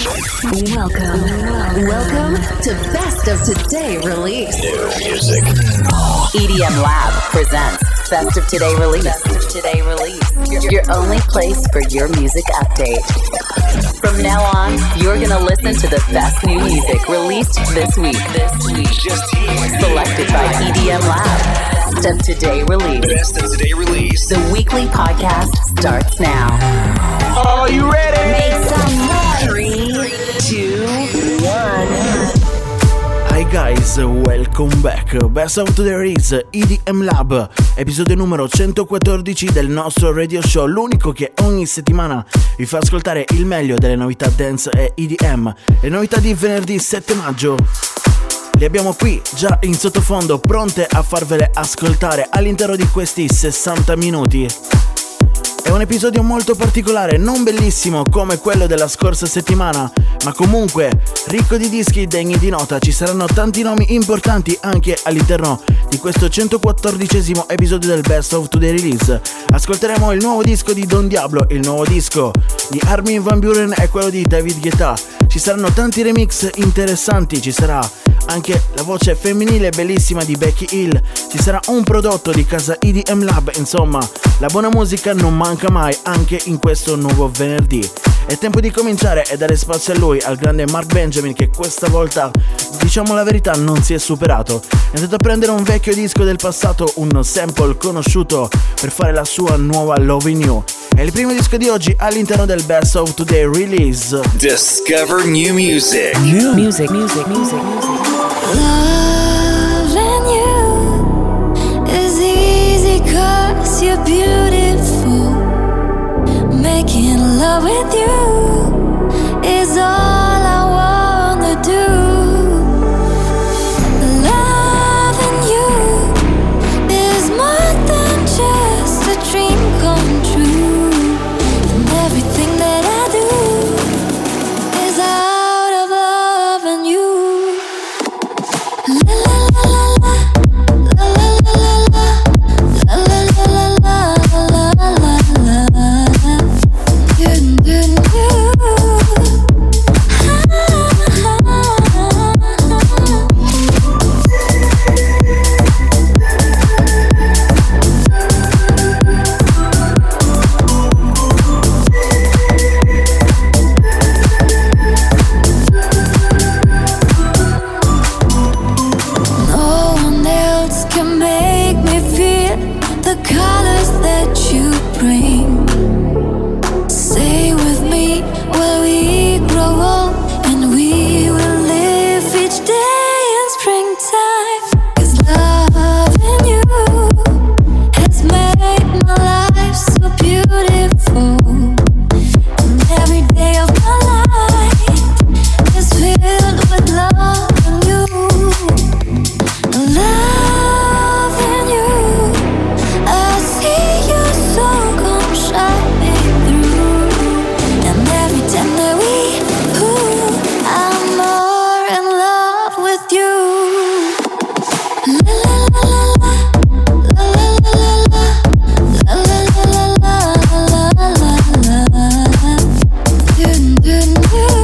Welcome to Best of Today Release. New music. EDM Lab presents Best of Today Release. Best of Today Release. Your only place for your music update. From now on, you're gonna listen to the best new music released this week. Just here. Selected by EDM Lab. Best of Today Release. Best of Today Release. The weekly podcast starts now. Are you ready? Make some noise. 3, 2, 1. Hi guys, welcome back. Best of Today Release, EDM Lab, episodio numero 114 del nostro radio show, l'unico che ogni settimana vi fa ascoltare il meglio delle novità dance e EDM. Le novità di venerdì 7 maggio le abbiamo qui già in sottofondo, pronte a farvele ascoltare all'interno di questi 60 minuti. È un episodio molto particolare, non bellissimo come quello della scorsa settimana, ma comunque ricco di dischi degni di nota. Ci saranno tanti nomi importanti anche all'interno di questo 114esimo episodio del Best of Today Release. Ascolteremo il nuovo disco di Don Diablo, il nuovo disco di Armin van Buuren e quello di David Guetta. Ci saranno tanti remix interessanti, ci sarà anche la voce femminile bellissima di Becky Hill, ci sarà un prodotto di casa EDM Lab, insomma la buona musica non manca mai anche in questo nuovo venerdì. È tempo di cominciare e dare spazio a lui, al grande Mark Benjamin, che questa volta, diciamo la verità, non si è superato. È andato a prendere un vecchio disco del passato, un sample conosciuto, per fare la sua nuova Loving You. È il primo disco di oggi all'interno del Best of Today Release. Discover new music. Music. Loving you is easy 'cause you're beautiful. Making love with you is all I wanna do. Loving you is more than just a dream come true. And everything that I do is out of loving you. La la la la la, la la la la la, la la la la la, la la la. You, you, you. No one else can make me feel the colors that you bring. Stay with me while we grow old, and we will live each day in springtime. 'Cause loving you has made my life so beautiful. And every day of my life is filled with loving you. Loving you, I see your soul come shining through. And every time that I'm more in love with you. La la la la la, la la la la, la la la la la. Do do do.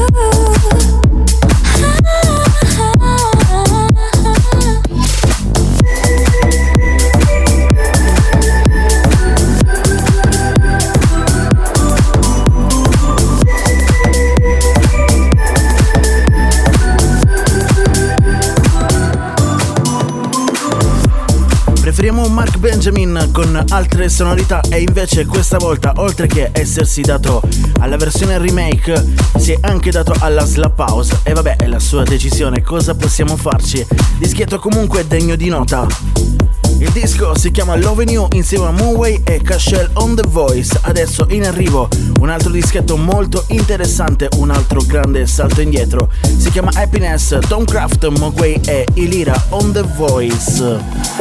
Preferiamo Mark Benjamin con altre sonorità, e invece questa volta, oltre che essersi dato alla versione remake, si è anche dato alla slap house. E vabbè, è la sua decisione, cosa possiamo farci? Dischetto comunque degno di nota. Il disco si chiama Loving You insieme a Moonway e Cashel on The Voice. Adesso in arrivo un altro dischetto molto interessante, un altro grande salto indietro. Si chiama Happiness, Tom Craft, Moonway e Ilira on The Voice.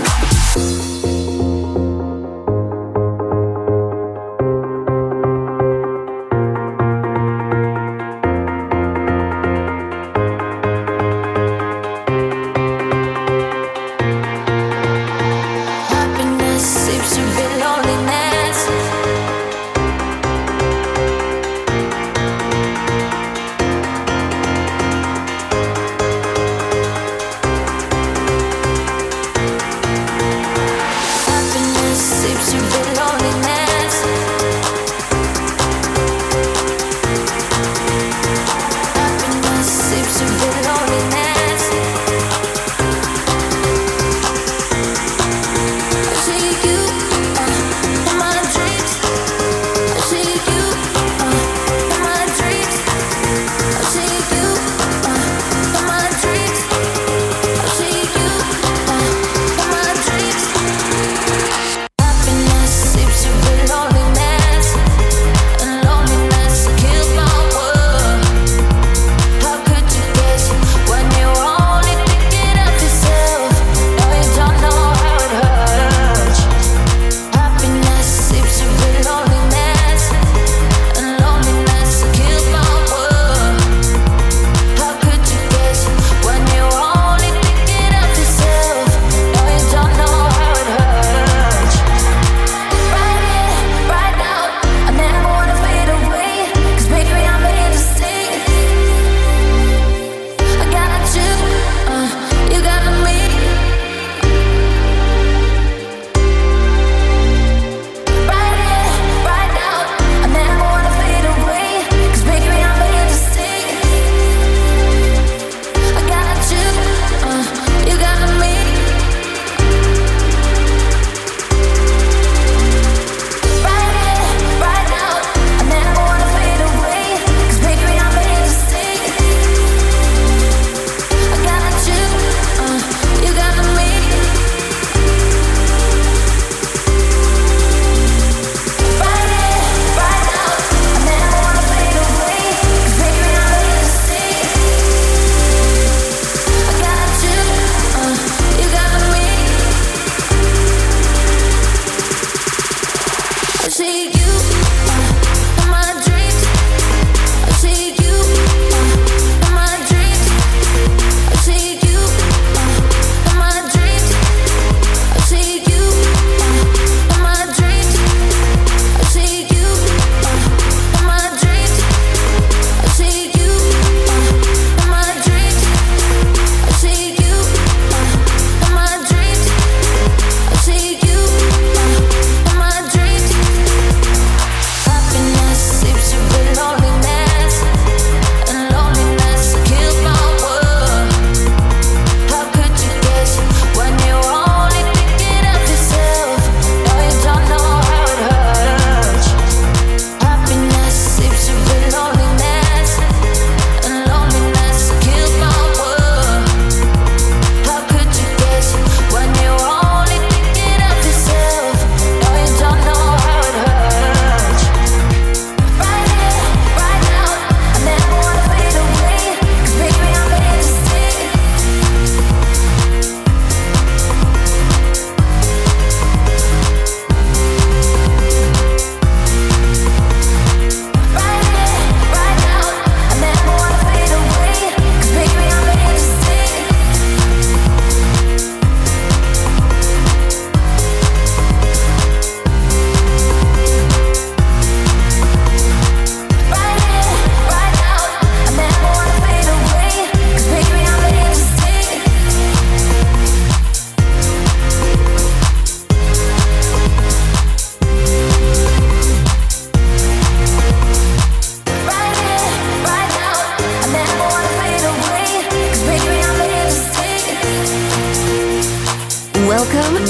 Happiness seems to be loneliness.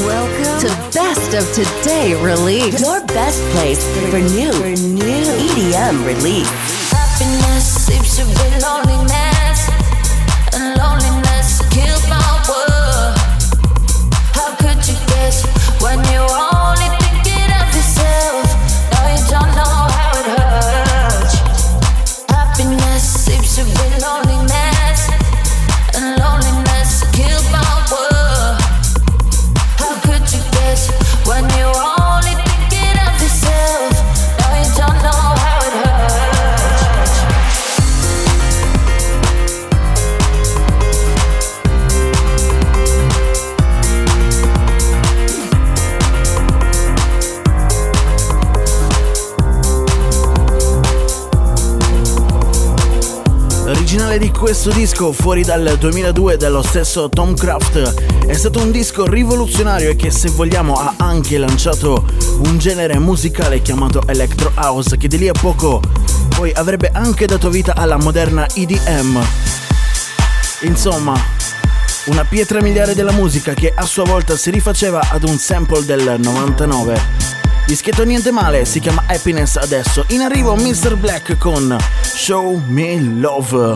Welcome to Best of Today Release. Your best place for new EDM release. Happiness seeps to be loneliness, and loneliness kills my world. How could you guess when you're only thinking of yourself? No, you don't know how it hurts. Happiness seems to be loneliness, and loneliness kills my world. How could you guess when you're only thinking of yourself? No, you don't know how it hurts. L'originale di questo disco, fuori dal 2002 dello stesso Tom Craft, è stato un disco rivoluzionario e che, se vogliamo, ha anche lanciato un genere musicale chiamato Electro House, che di lì a poco poi avrebbe anche dato vita alla moderna EDM. Insomma, una pietra miliare della musica che a sua volta si rifaceva ad un sample del 99. Dischetto niente male, si chiama Happiness adesso. In arrivo Mr. Black con Show Me Love.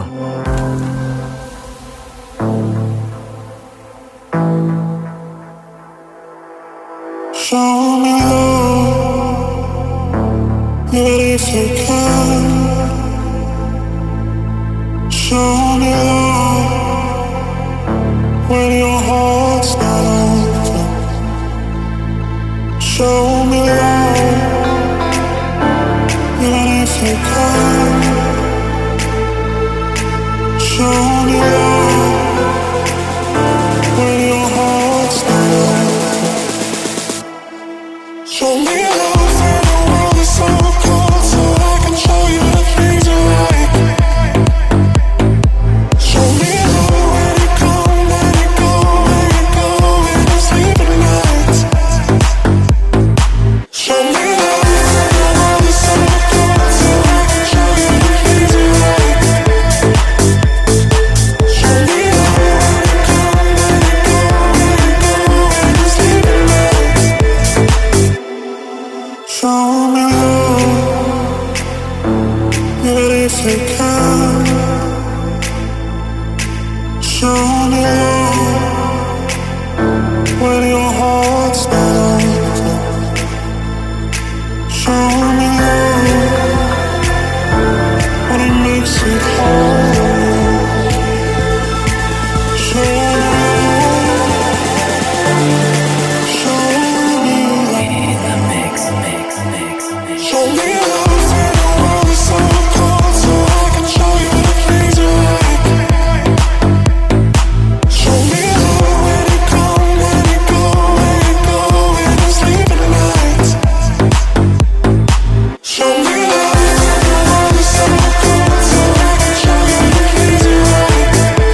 Show me love, even if you can. Show me love when your heart's not open. Show me love, even if you can. Show me love when your heart's not open. Show me love when the world is so cold, so I can show you the things you like. Show me love when you come, when you go, when you go, when you sleep at night. Show me love when the world is so cold, so I can show you the things you like. Show me love when you come, when you go, when you go, when you sleep at night. Show me love, even if you can. Show me love when your heart's not open. Show me love when it makes it hard. Show me love, show me love. Show me love when the world is so cold, so I can show you the things you like. Show me love when you come, when you go, when you go, when you sleep at night. Show me love when the world is so cold, so I can show you the things you like.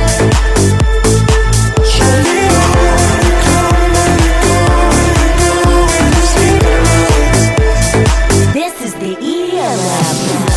Show me love when you come, when you go, when you go, when you sleep at night. This is the EDM Lab.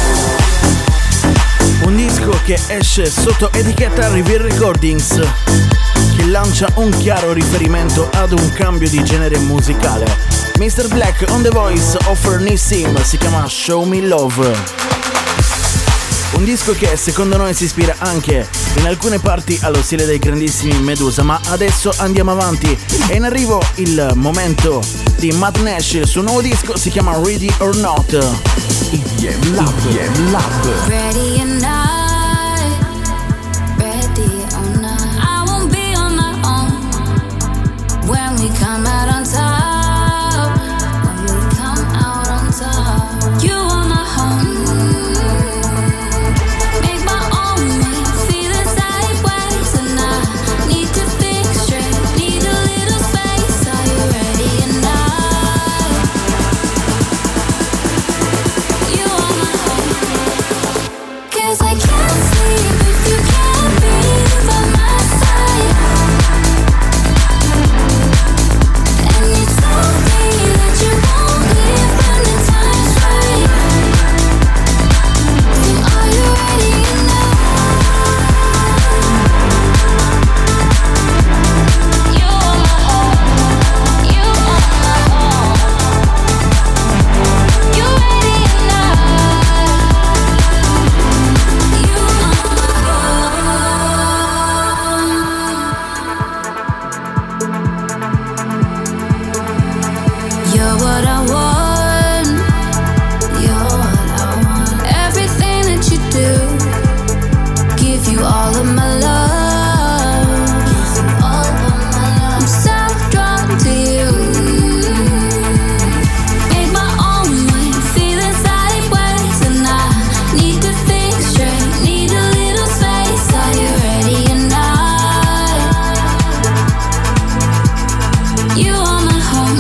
Un disco che esce sotto etichetta Reveal Recordings, che lancia un chiaro riferimento ad un cambio di genere musicale. Mr. Black on the voice of Nissim, si chiama Show Me Love. Un disco che secondo noi si ispira anche in alcune parti allo stile dei grandissimi Medusa, ma adesso andiamo avanti. È in arrivo il momento di Matt Nash, il suo nuovo disco si chiama Ready or Not. EDM Lab. Ready or not, ready or not, I won't be on my own when we come out on top. When we come out on top, you are my home. Make my own me, feeling sideways, and I need to think straight. Need a little space. Are you ready or not? You are my home. 'Cause I can't all of my love. I'm so drawn to you. Make my own mind, feeling sideways, and I need to think straight. Need a little space. Are you ready or not? You are my home.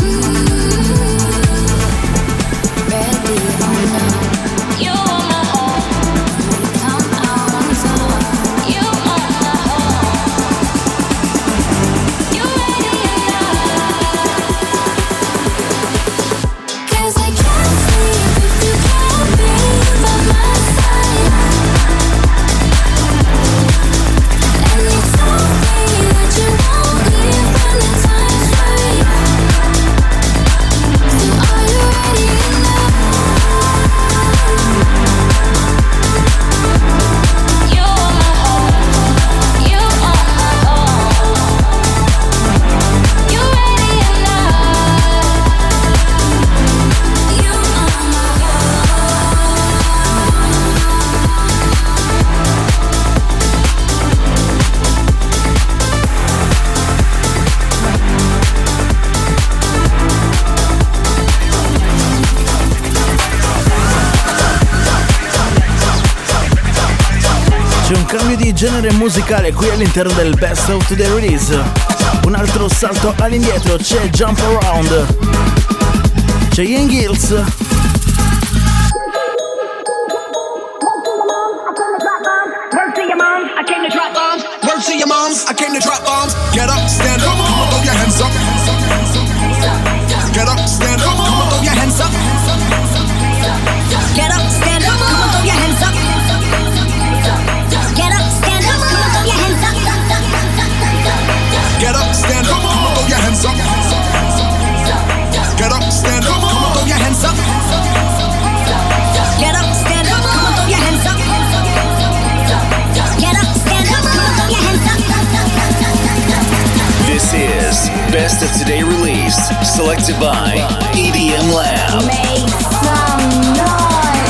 Ready or not? You are my home. Come on, you are my home. You ready or not? 'Cause I can't sleep if you can't be by my side. And you told me that you won't leave when the time's right. So are you ready or not? You are my home. You are my home. You ready or not? You are my C'è un cambio di genere musicale qui all'interno del Best of the Release. Un altro salto all'indietro, c'è Jump Around. C'è Ian Gills. Word to your moms, I came to drop bombs. Word to your moms, I came to drop bombs. Get up, stand up, come on, throw your hands up. Get up, stand up, come on, throw your hands up. Get up, stand up, come on, throw your hands up. Get up, stand up, come on, throw your hands up. Get up, stand up, come on, throw your hands up. Get up, stand up, come on, throw your hands up. Get up, stand up, come on, throw your hands up. Get up, stand up, come on, throw your hands up. This is Best of Today Release, selected by EDM Lab. Make some noise.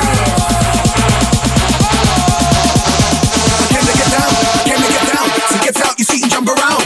I came to get down, I came to get down. So get out your seat and jump around.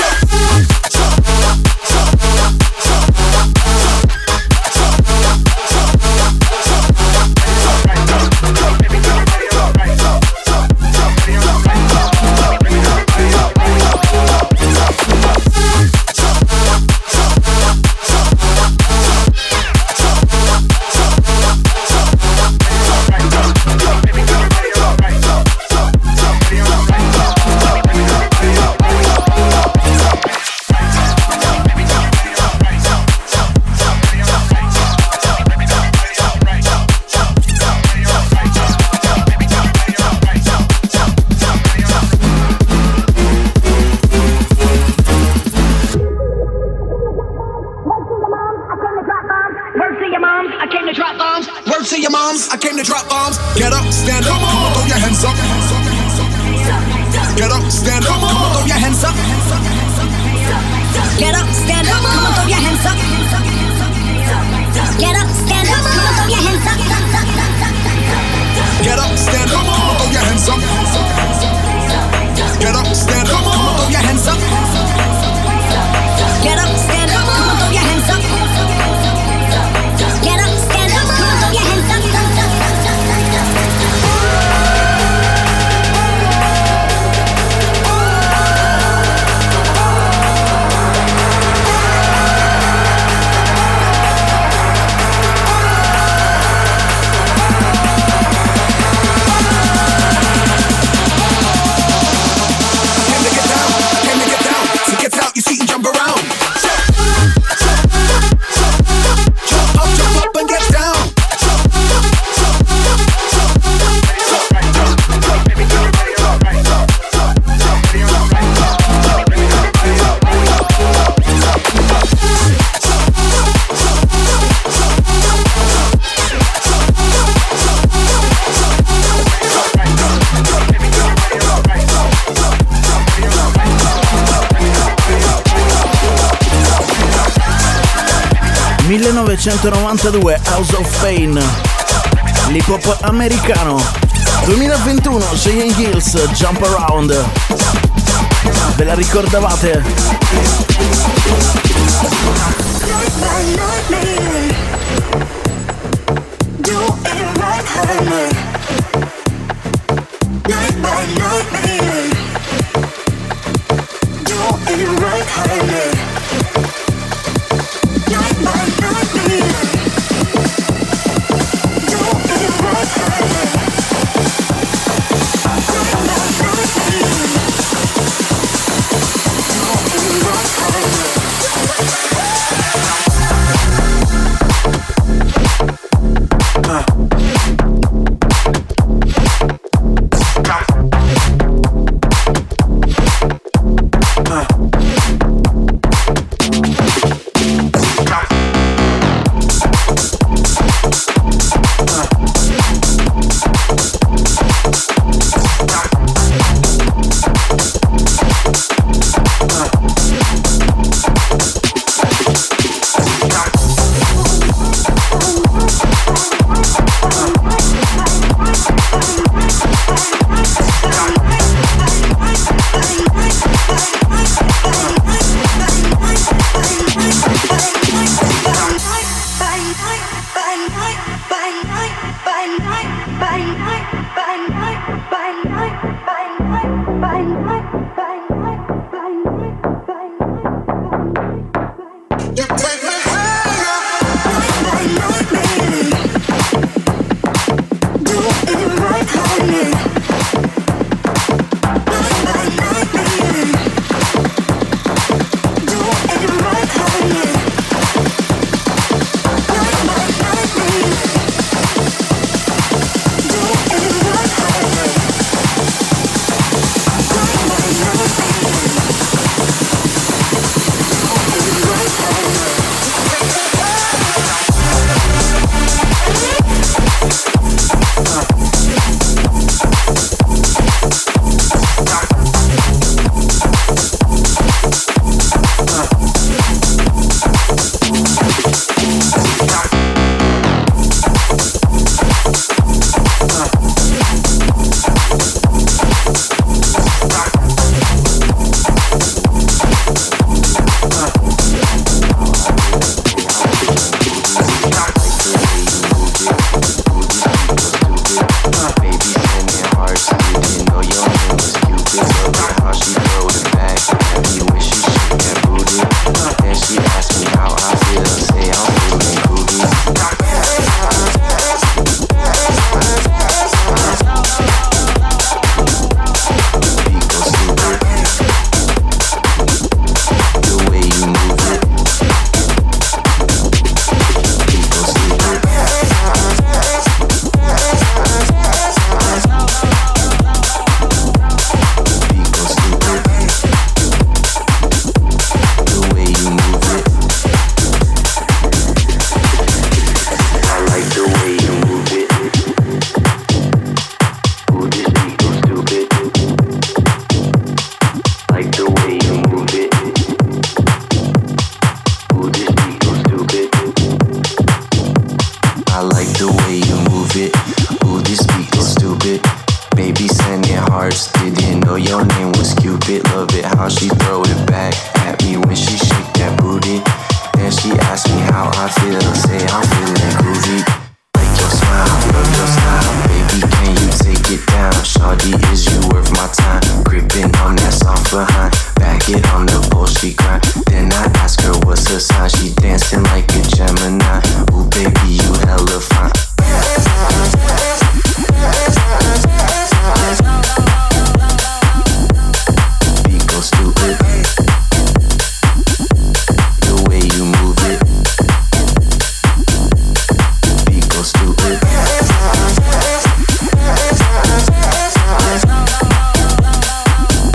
Word to your moms, I came to drop bombs. Word to your moms, I came to drop bombs. Get up, stand up, come on, throw your hands up. Get up, stand up, come on, throw your hands up. Get up, stand up, come on, throw your hands up. Get up, stand up, come on, throw your hands up. Get up, stand up, come on, throw your hands up. Get up, stand up, come on, throw your hands up. Get up, stand up, come on, throw your hands up. Get up, stand up, come on, throw your hands up. ...1992, House of Pain. l'hip hop americano. 2021, Cheyenne Hills, Jump Around. Ve la ricordavate?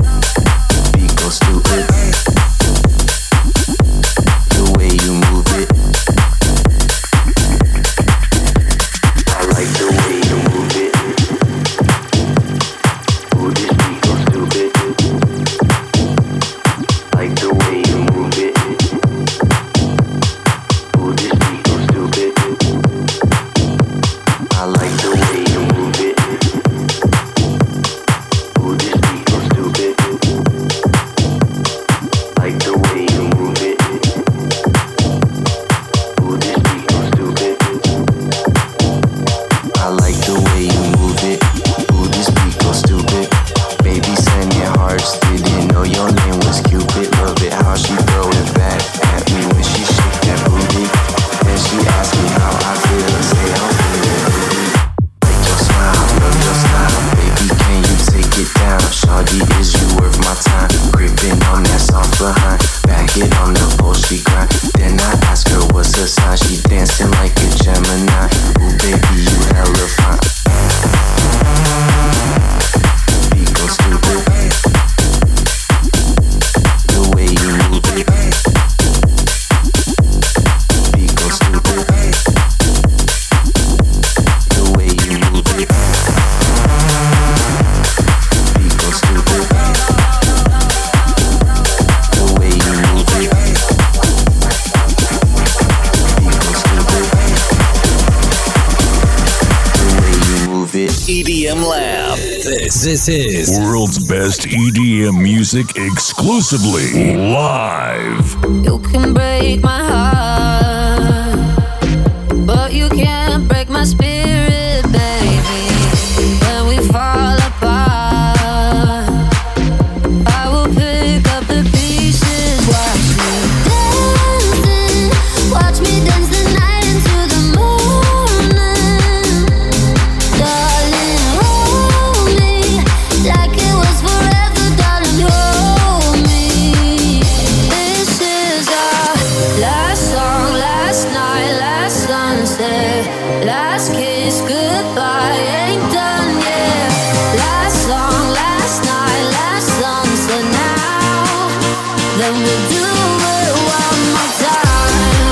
The way you move it. doggy, is you worth my time? Gripping on that soft behind, back it on the pole, she grind. Then I ask her what's her sign, she dancing like a Gemini. Ooh baby, you hella fine. Beat go stupid, the way you move it. Beat go stupid, the way you move it. Beat go stupid, the way you move it. Beat go stupid, the way you move it. EDM Lab. This is world's best EDM music exclusively live. You can break my heart, but you can't break my spirit, baby. When we fall apart, I will pick up the pieces. Watch me dance the night into the morning. Darling, hold me like it was forever, darling, hold me. This is our last song, last night, last sunset, last kiss, goodbye, ain't done yet. Last song, last night, last sunset, now then we'll do it one more time.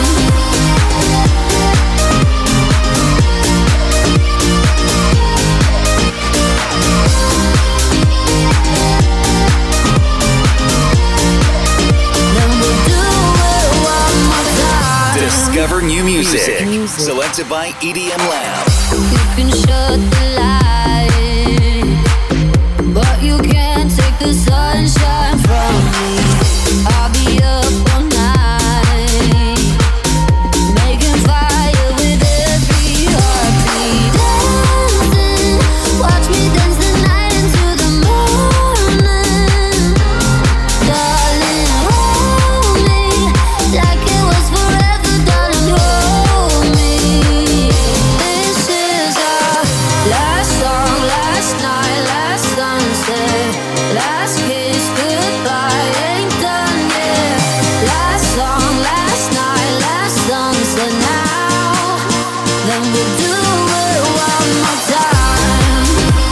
Then we'll do it one more time. Discover new music. Selected by EDM Lab. You can shut the light, but you can't take the sunshine from me. I'll be up all night, making fire with every heartbeat. Dancing, watch me dance the night into the morning. Darling, hold me like it was forever, darling, hold me. This is our last song, last night, last sunset, last kiss, goodbye, ain't done yet. Last song, last night, last sunset, now then we'll do it one more time.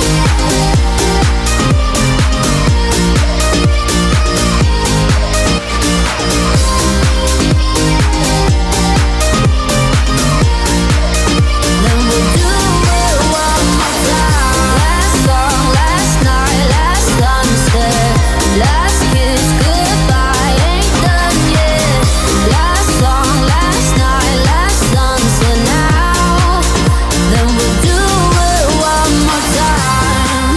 Then we'll do it one more time. Last song, last night, last sunset, last kiss, goodbye, ain't done yet. Last song, last night, last sunset, now then we'll do it one more time.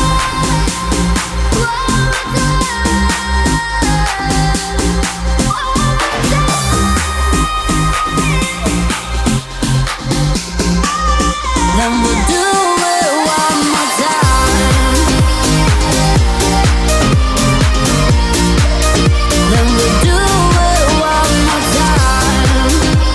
Then we'll do it one more time. Then we'll do it one more time.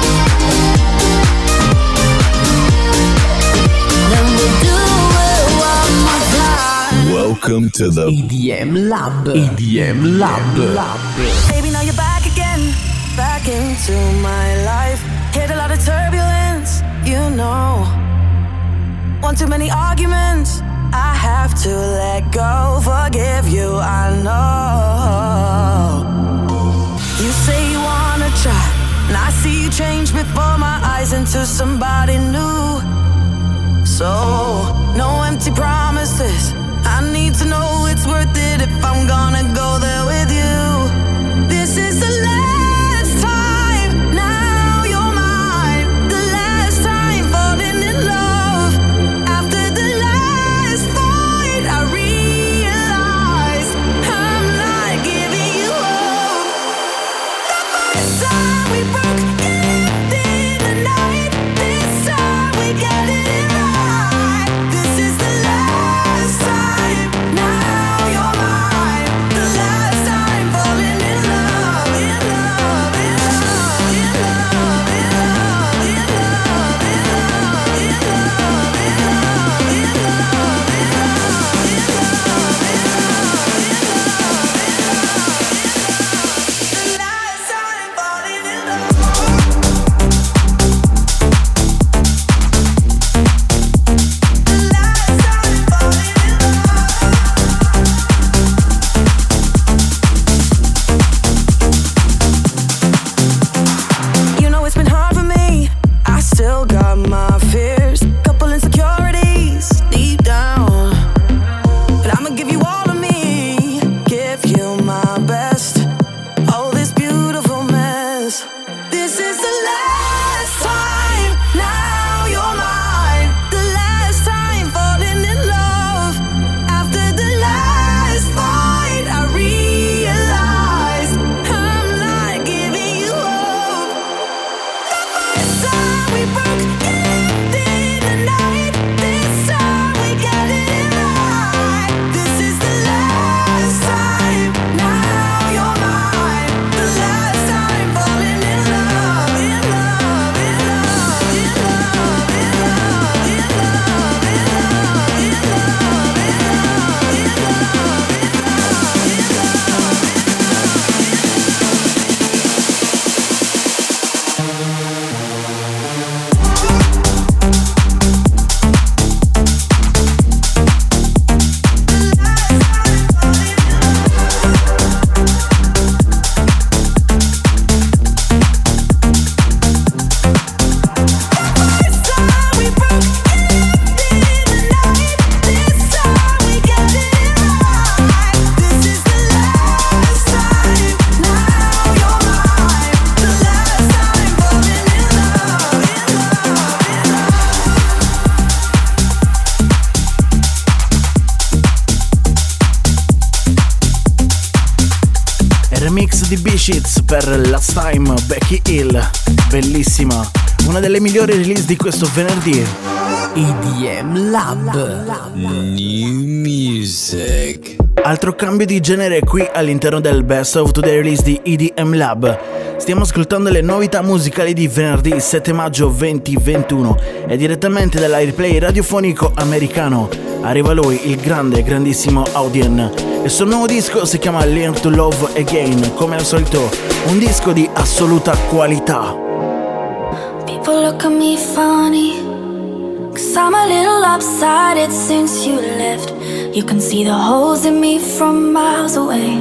Then we'll do it one more time. Welcome to the EDM Lab. EDM Lab. Baby, now you're back again, back into my life. Hit a lot of turbulence, you know. One too many arguments, I have to let go. Forgive you, I know. You say you wanna try, and I see you change before my eyes into somebody new. So, no empty promises, I need to know it's worth it if I'm gonna go there with you. This is the last time, now you're mine. The last time falling in love. After the last fight, I realized I'm not giving you up. The first time we broke, left in the night. This time we got it right. This is the last time. remix di B-Sheets per Last Time, Becky Hill, bellissima, una delle migliori release di questo venerdì. EDM Lab. New Music. Altro cambio di genere qui all'interno del Best of Today Release di EDM Lab. Stiamo ascoltando le novità musicali di venerdì 7 maggio 2021 e direttamente dall'airplay radiofonico americano arriva lui, il grandissimo Audien. Il suo nuovo disco si chiama Learn to Love Again, come al solito un disco di assoluta qualità. People look at me funny, 'cause I'm a little lopsided since you left. You can see the holes in me from miles away.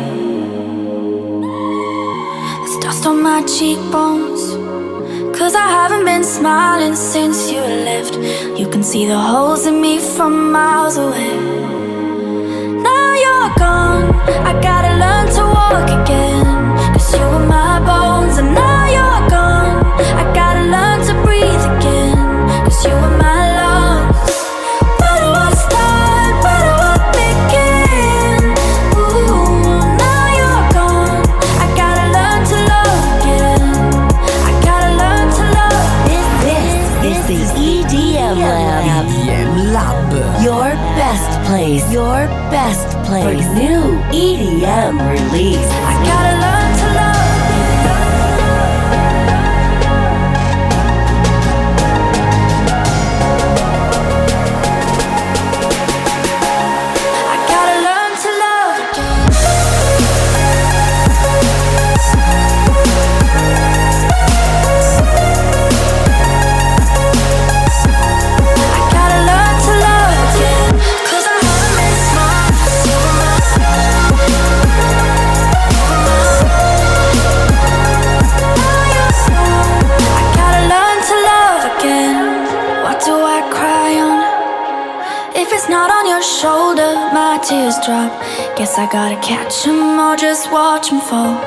There's dust on my cheekbones, 'cause I haven't been smiling since you left. You can see the holes in me from miles away. Now you're gone, I gotta learn to walk again, 'cause you were my bones. And now you're gone, I gotta learn to breathe again, 'cause you were my lungs. Where do I start? Where do I begin? Ooh, now you're gone, I gotta learn to love again. I gotta learn to love. This is EDM Lab. EDM Lab. Your best place. Your best place. For new EDM release. I gotta learn to love. Shoulder, my tears drop. Guess I gotta catch them or just watch them fall.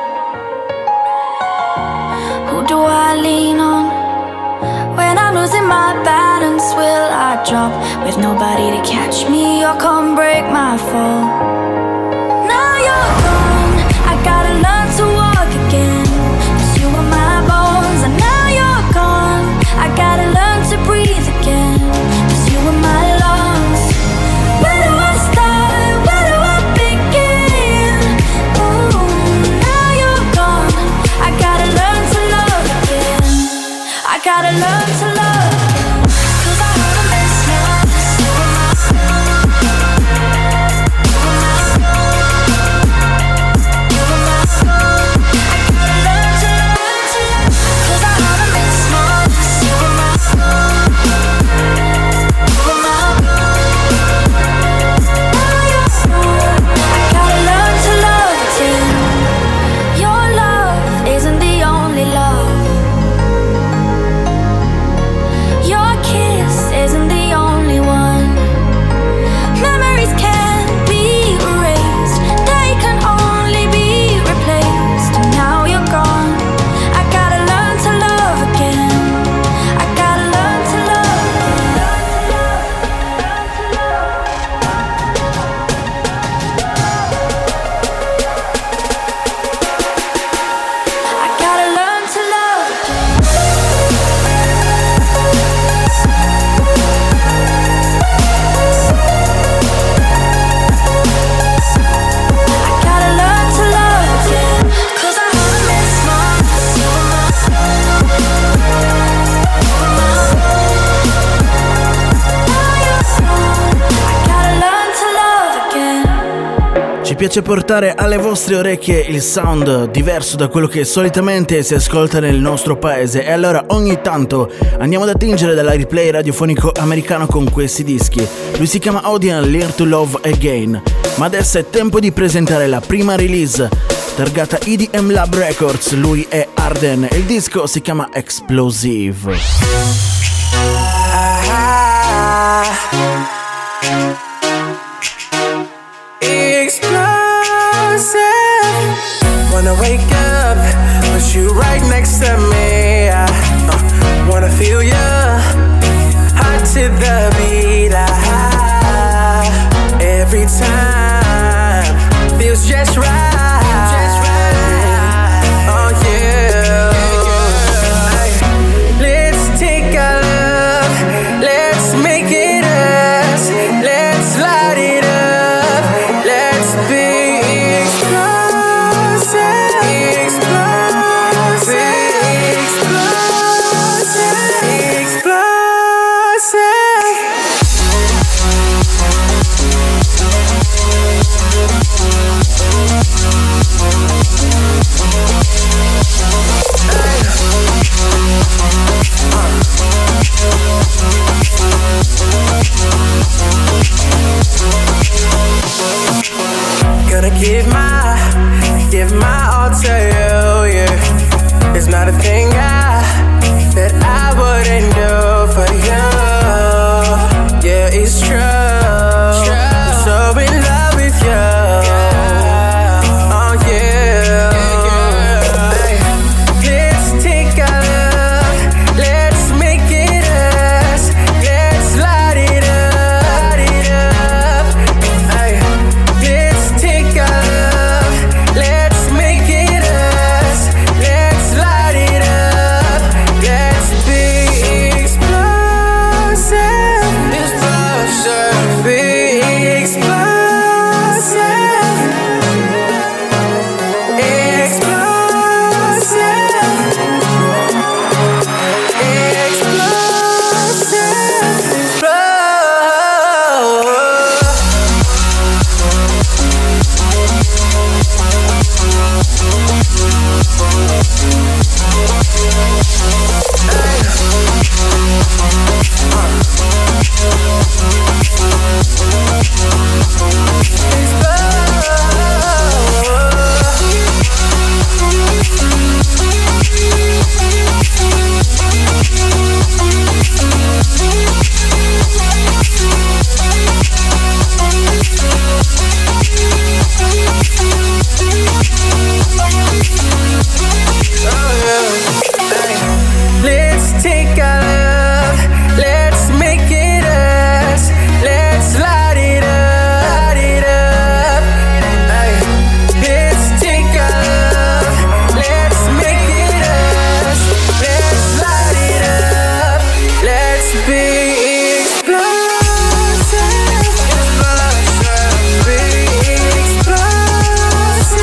Who do I lean on? When I'm losing my balance, will I drop? With nobody to catch me or come break my fall. Now you're gone, I gotta learn to walk again, 'cause you were my bones. And now you're gone, I gotta learn to breathe again, 'cause you were my lungs. Where do I start? Where do I begin? Ooh, now you're gone, I gotta learn to love again. I gotta learn to love again, 'cause I haven't been smart. Ci piace portare alle vostre orecchie il sound diverso da quello che solitamente si ascolta nel nostro paese, e allora ogni tanto andiamo ad attingere dall'airplay radiofonico americano con questi dischi. Lui si chiama Audien, Learn to Love Again, ma adesso è tempo di presentare la prima release targata EDM Lab Records. Lui è Arden e il disco si chiama Explosive. Wanna wake up, put you right next to me. Wanna feel you, hot to the beat. Every time feels just right. gonna give my all to you, yeah. It's not a thing that I wouldn't do for you. Yeah, it's true. I'm so in love with you. Oh yeah. Let's take our love, let's make it us. Let's light it up, Ay. Let's take our love, let's make it us. Let's light it up. Let's be explosive, explosive, be explosive, let's take our love, let's make it us. Let's light it up, Ay. Let's take our love, let's make it us. Let's light it up. Let's be explosive, explosive, be explosive,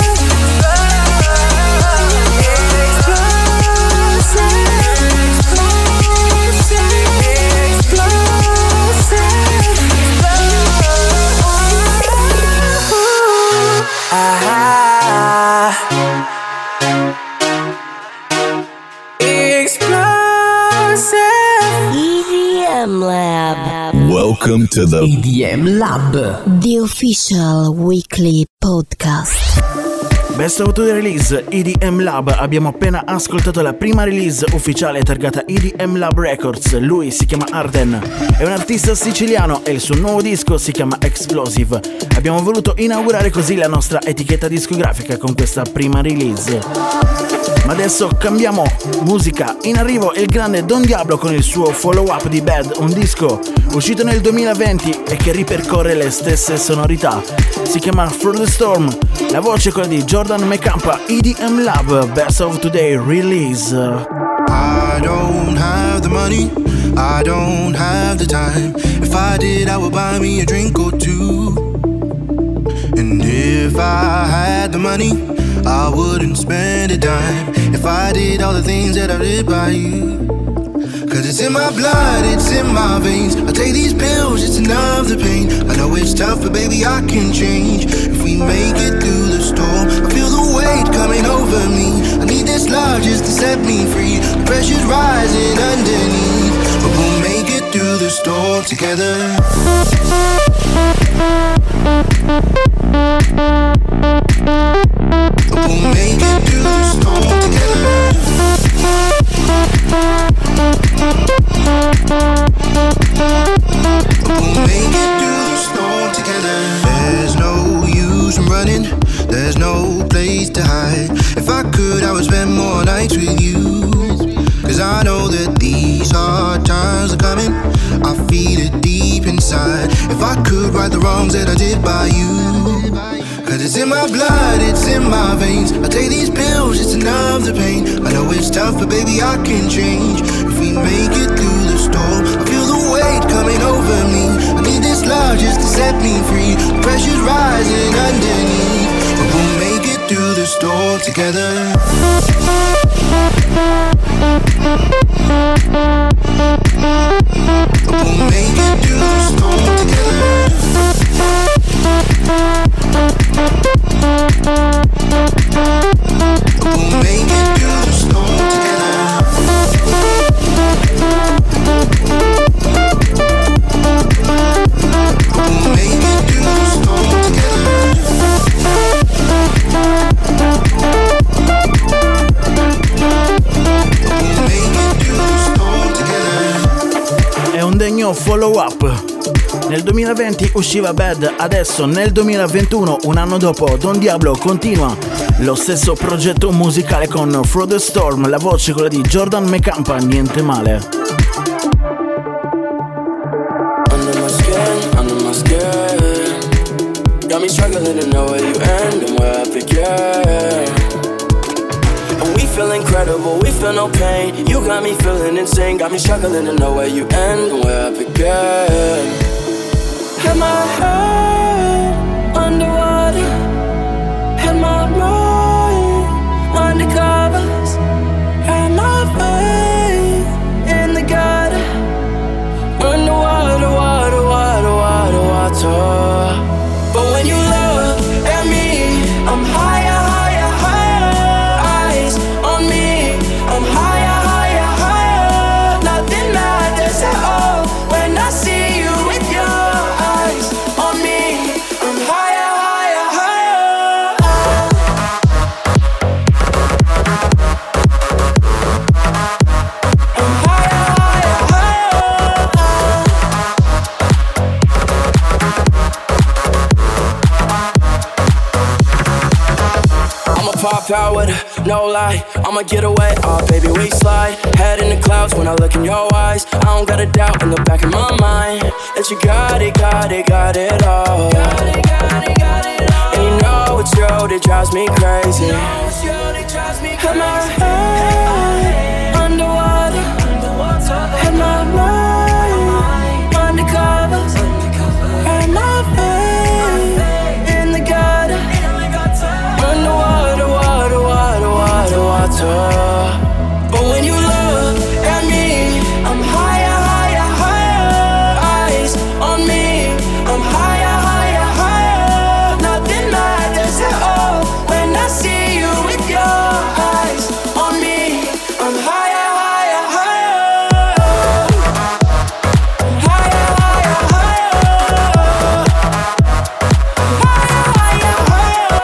EDM Lab. Welcome to the EDM Lab. The official weekly podcast. Best of the Release EDM Lab. Abbiamo appena ascoltato la prima release ufficiale targata EDM Lab Records. Lui si chiama Arden, è un artista siciliano e il suo nuovo disco si chiama Explosive. Abbiamo voluto inaugurare così la nostra etichetta discografica con questa prima release. Ma adesso cambiamo musica. In arrivo il grande Don Diablo con il suo follow up di Bad, un disco uscito nel 2020 e che ripercorre le stesse sonorità. Si chiama Through the Storm. La voce è quella di Jordan Mecampa. EDM Lab Best of Today Release. I don't have the money, I don't have the time. If I did, I would buy me a drink or two. And if I had the money, I wouldn't spend a dime. If I did all the things that I did by you. Cause it's in my blood, it's in my veins. I take these pills just to numb the pain. I know it's tough, but baby I can change. If we make it through the storm, I feel the weight coming over me. I need this love just to set me free. The pressure's rising underneath, but we'll make it through the storm together. But we'll make it through the storm together. We'll make it through the storm together. There's no use in running, there's no place to hide. If I could, I would spend more nights with you. Cause I know that these hard times are coming, I feel it deep inside. If I could right the wrongs that I did by you. Cause it's in my blood, it's in my veins. I take these pills just to numb the pain. I know it's tough, but baby I can change. If we make it through the storm, I feel the weight coming over me. I need this love just to set me free. The pressure's rising underneath, but we'll make it through the storm together. But we'll make it through the storm together. We'll make it through the storm together. We'll make it through the storm together. follow up. Nel 2020 usciva Bad, adesso nel 2021, un anno dopo, Don Diablo continua lo stesso progetto musicale con Through the Storm, la voce quella di Jordan McCampa, niente male. Under my skin, got me struggling to know where you end and where I begin. And we feel incredible, we feel no pain. You got me feeling insane, got me struggling to know where you end and where I begin. Had my head underwater, had my mind undercovers, had my faith in the gutter. Underwater, water, water, water, water. But when you look at me, I'm higher, higher, higher. Eyes on me, I'm higher, higher, higher. Nothing matters at all when I see you with your eyes on me. I'm higher, higher, higher. I'm higher, higher, higher. I'ma pop out with no lie. I'ma get away, oh baby, we slide. Head in the clouds when I look in your eyes. I don't got a doubt in the back of my mind that you got it, got it, got it all. And you know it's you that drives me crazy. Had my head underwater, had my mind undercover, had my faith in the gutter. Underwater, water, water, water, water. But when you look at me, I'm higher, higher, higher. Eyes on me, I'm higher, higher, higher. Nothing matters at all when I see you with your eyes on me. I'm higher, higher, higher. Higher, higher, higher. Higher, higher, higher.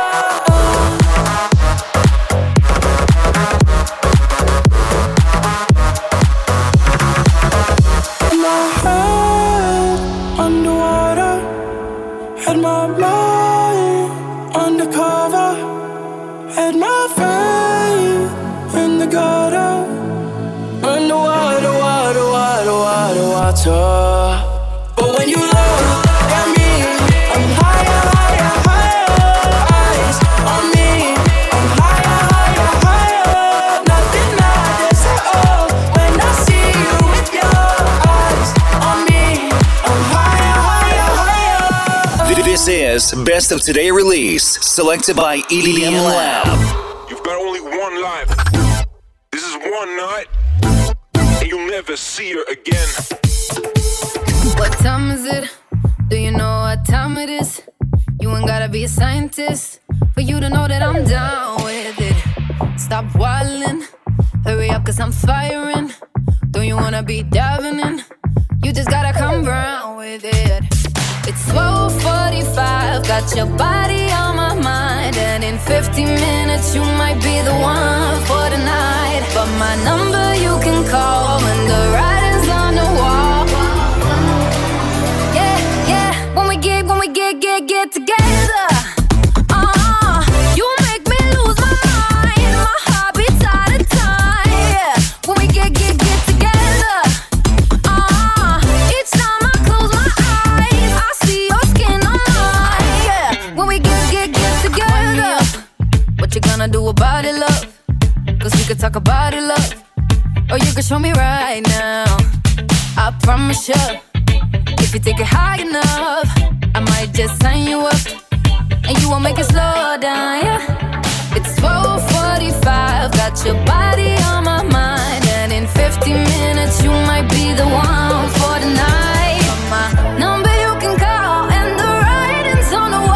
My head underwater, had my mind undercover, had my faith in the gutter. Underwater, water, water, water, water. But when you look at me, I'm higher, higher, higher. Eyes on me, I'm higher, higher, higher. Nothing matters at all when I see you with your eyes on me. I'm higher, higher, higher. This is Best of Today release, selected by EDM Lab. You've got only one life. This is one night, and you'll never see her again. What time is it? Do you know what time it is? You ain't gotta be a scientist for you to know that I'm down with it. Stop wildin', hurry up 'cause I'm firing. Don't you wanna be diving in? You just gotta come round with it. It's 12:45, got your body on my mind. And in 50 minutes you might be the one for the night. But my number you can call when the writing's on the wall. Yeah, yeah, when we get together. You make me lose my mind. My heart beats out of time. Yeah, when we get together. Each time I close my eyes, I see your skin on mine. Yeah, when we get together. What you gonna do about it, love? 'Cause we could talk about it, love. Or you can show me right now. I promise you, if you take it high enough, I might just sign you up, and you won't make it slow down, yeah. It's 12:45, got your body on my mind. And in 50 minutes, you might be the one for the night. My number you can call, and the writing's on the wall.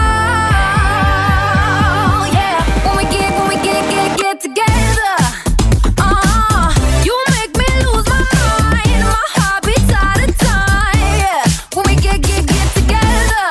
Yeah, when we get together. You make me lose my mind. My heart beats out of time. Yeah, when we get together.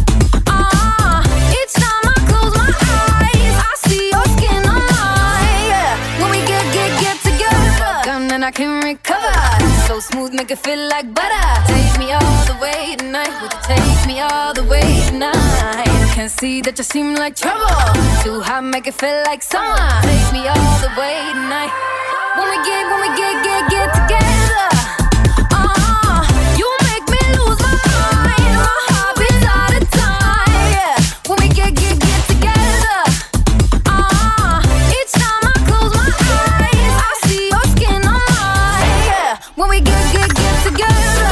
Each time I close my eyes, I see your skin on mine. Yeah, when we get together. Gun and I can recover. So So smooth, make it feel like butter. Take me all the way tonight. Would you take me all the way tonight? Can't see that you seem like trouble. Too hot, make it feel like summer. Take me all the way tonight. When we get together. You make me lose my mind. My heart beats out of time. Yeah. When we get together. Each time I close my eyes, I see your skin on mine. Yeah. When we get together.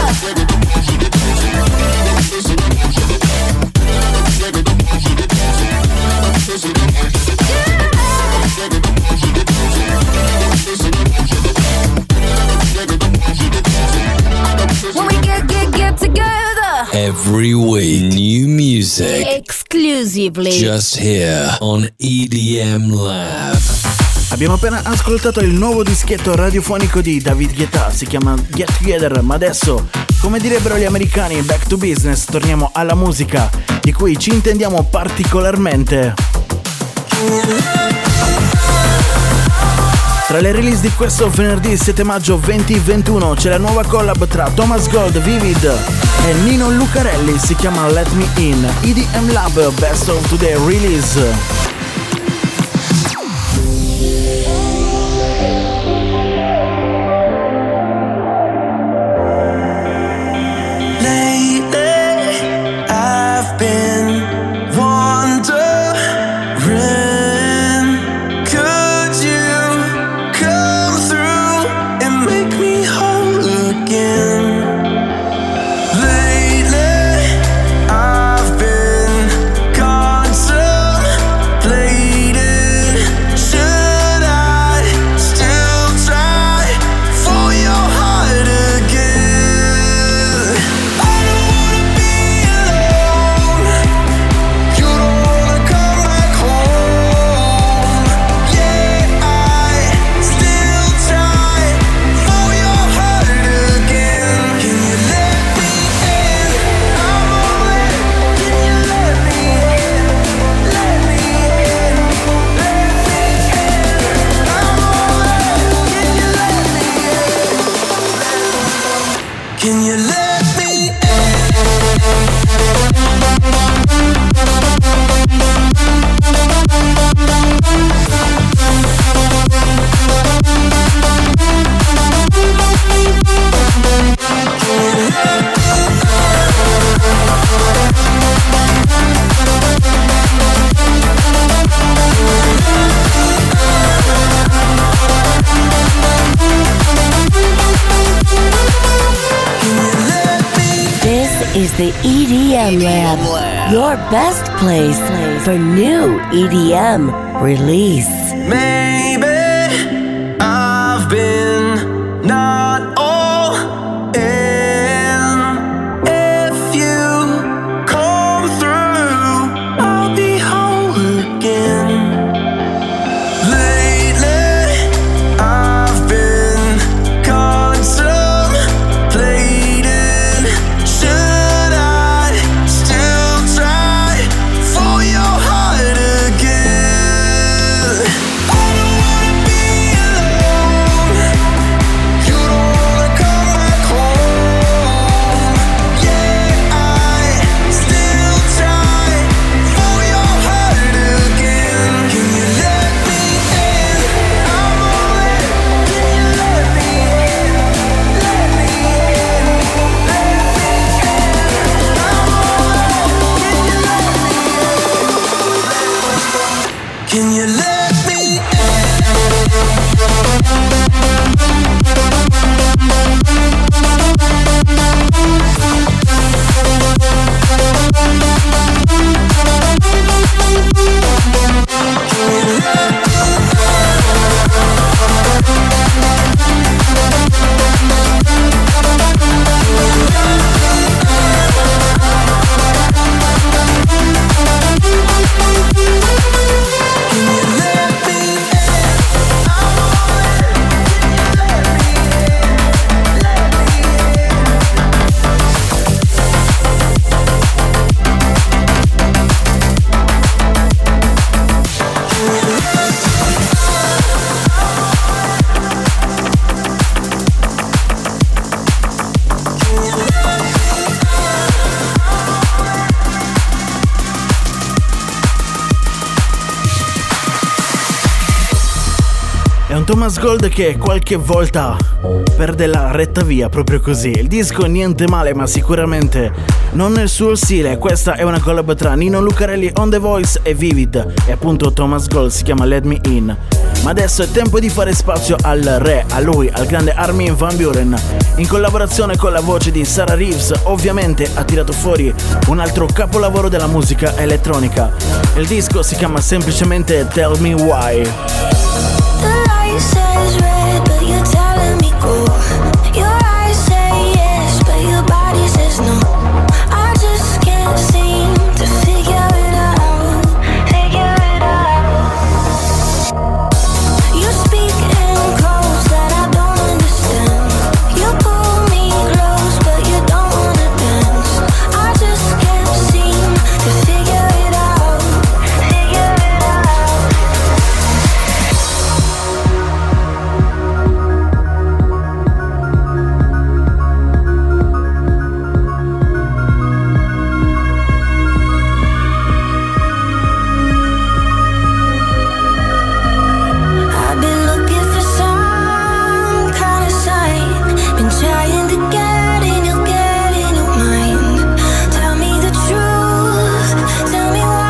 When we get together. Every week, new music. Exclusively. Just here on EDM Lab. Abbiamo appena ascoltato il nuovo dischetto radiofonico di David Guetta, si chiama Get Together, ma adesso, come direbbero gli americani, back to business, torniamo alla musica di cui ci intendiamo particolarmente. Tra le release di questo venerdì 7 maggio 2021 c'è la nuova collab tra Thomas Gold, Vivid e Nino Lucarelli, si chiama Let Me In, EDM Lab Best of Today Release. Is the EDM Lab, your best place for new EDM release. Maybe I've been not all in. If you come through, I'll be whole again. Lately, I've been contemplating. Should I still try for your heart again? I don't wanna be alone. You don't wanna come back home. Yeah, I still try for your heart again. Can you let me in? I'm all in. Can you let me in? Let me in. Let me in. I'm all in. Can you let me in? Can you let me Can you let un Thomas Gold che qualche volta perde la retta via proprio così. Il disco niente male, ma sicuramente non nel suo stile. Questa è una collab tra Nino Lucarelli on The Voice e Vivid, e appunto Thomas Gold si chiama Let Me In. Ma adesso è tempo di fare spazio al re, a lui, al grande Armin van Buuren. In collaborazione con la voce di Sarah Reeves, ovviamente ha tirato fuori un altro capolavoro della musica elettronica. Il disco si chiama semplicemente Tell Me Why. The light says red, but you're telling me go. Your eyes say yes, but your body says no. I just can't seem to figure it out. Figure it out. You speak in codes that I don't understand. You pull me close, but you don't wanna dance. I just can't seem to figure it out. Figure it out. I've been looking for some kind of sign. Been trying to get in your mind. Tell me the truth. Tell me why.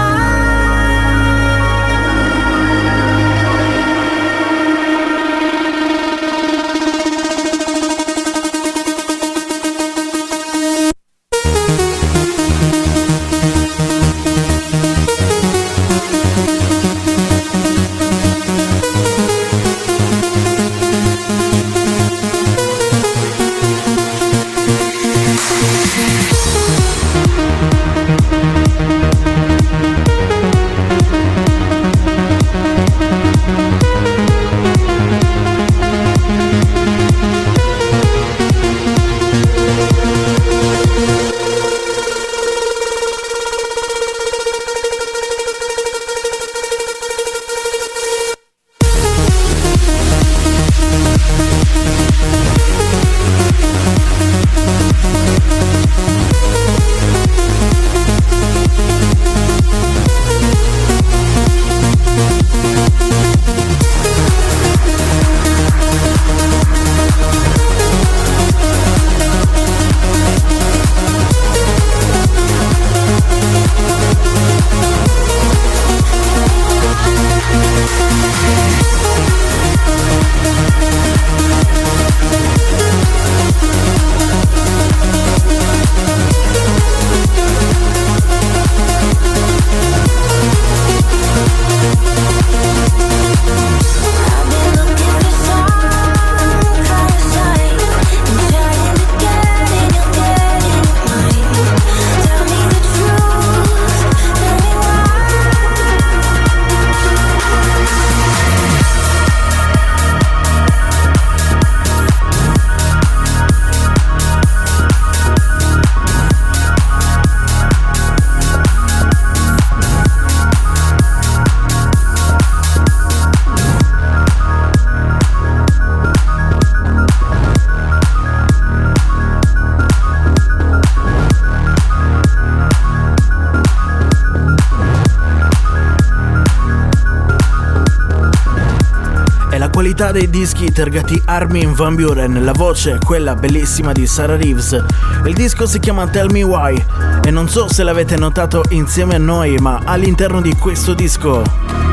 qualità dei dischi targati Armin van Buuren, la voce quella bellissima di Sarah Reeves. Il disco si chiama Tell Me Why e non so se l'avete notato insieme a noi, ma all'interno di questo disco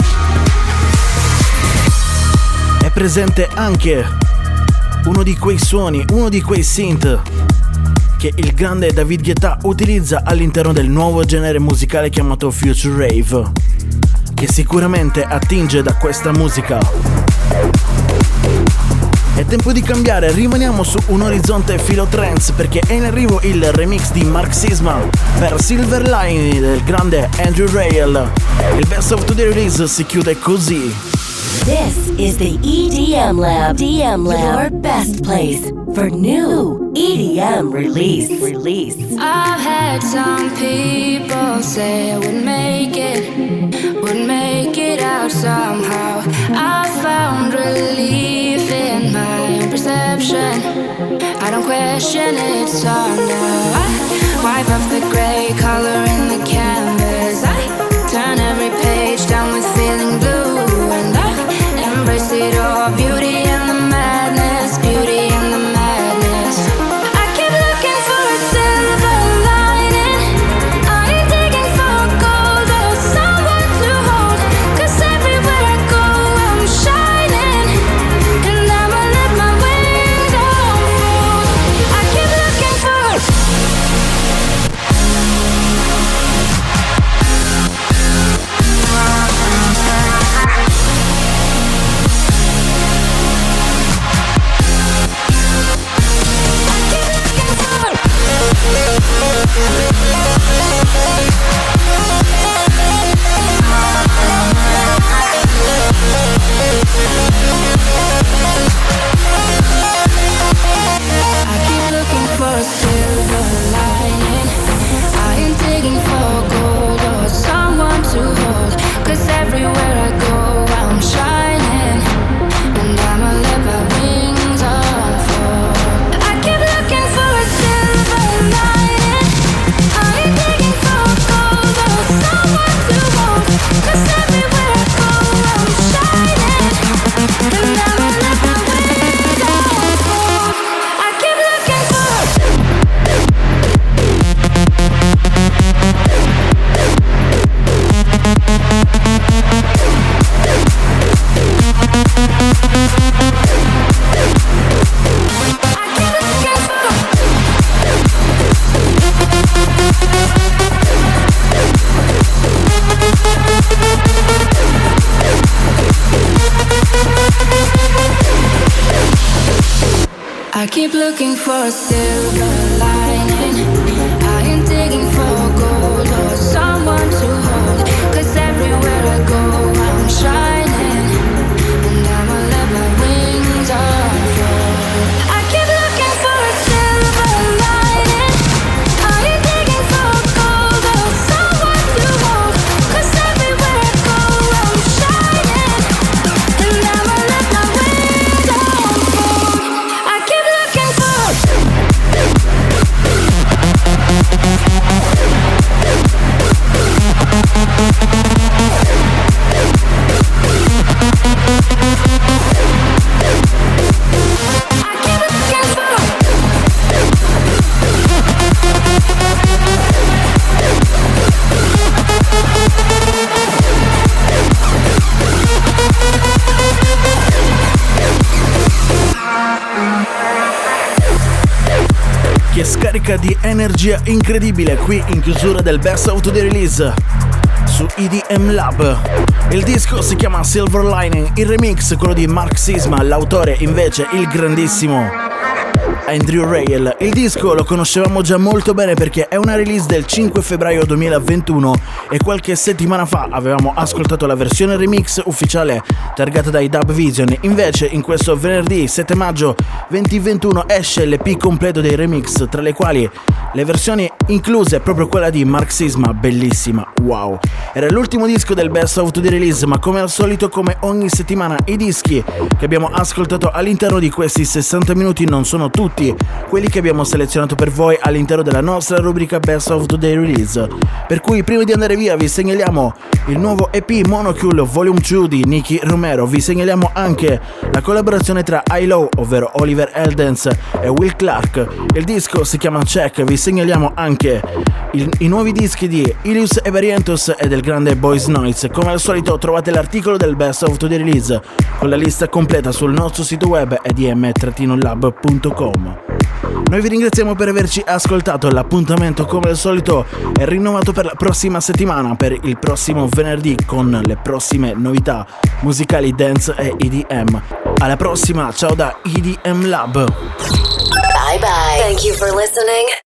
è presente anche uno di quei suoni, uno di quei synth che il grande David Guetta utilizza all'interno del nuovo genere musicale chiamato Future Rave, che sicuramente attinge da questa musica. È tempo di cambiare, rimaniamo su un orizzonte filo trance perché è in arrivo il remix di Mark Sisma per Silver Line del grande Andrew Rayel. Il Best of Today Release si chiude così. This is the EDM Lab. Your best place for new EDM release. I've had some people say I would make it out somehow. I found relief in my own perception. I don't question it, so now I wipe off the gray color in the canvas. I turn every page down with feeling blue, and I embrace it all beautiful. I keep looking for a silver lining. I am digging for gold or someone to hold. 'Cause everywhere I go I'm shining, and I'ma let my wings unfold. I keep looking for a silver lining. I am digging for gold or someone to hold. 'Cause everywhere I go I'm shining, and I'ma let my wings unfold. I keep looking for che scarica di energia incredibile qui in chiusura del Best of the Release su EDM Lab. Il disco si chiama Silver Lining, il remix quello di Mark Sisma, l'autore invece il grandissimo Andrew Rayel. Il disco lo conoscevamo già molto bene perché è una release del 5 febbraio 2021 e qualche settimana fa avevamo ascoltato la versione remix ufficiale targata dai Dub Vision. Invece in questo venerdì 7 maggio 2021 esce l'EP completo dei remix, tra le quali le versioni incluse proprio quella di Mark Sisma, bellissima, wow. Era l'ultimo disco del Best of the Release, ma come al solito, come ogni settimana, i dischi che abbiamo ascoltato all'interno di questi 60 minuti non sono tutti quelli che abbiamo selezionato per voi all'interno della nostra rubrica Best of the Release. Per cui prima di andare via vi segnaliamo il nuovo EP Monocule Volume 2 di Nicky Romero, vi segnaliamo anche la collaborazione tra I-Low, ovvero Oliver Eldens e Will Clark. Il disco si chiama Check, vi segnaliamo anche i nuovi dischi di Ilius e Barrientos e del grande Boys Noise. Come al solito trovate l'articolo del Best of the Release con la lista completa sul nostro sito web edm-lab.com. Noi vi ringraziamo per averci ascoltato, l'appuntamento come al solito è rinnovato per la prossima settimana, per il prossimo venerdì con le prossime novità musicali dance e EDM. Alla prossima, ciao da EDM Lab. Bye bye. Thank you for listening.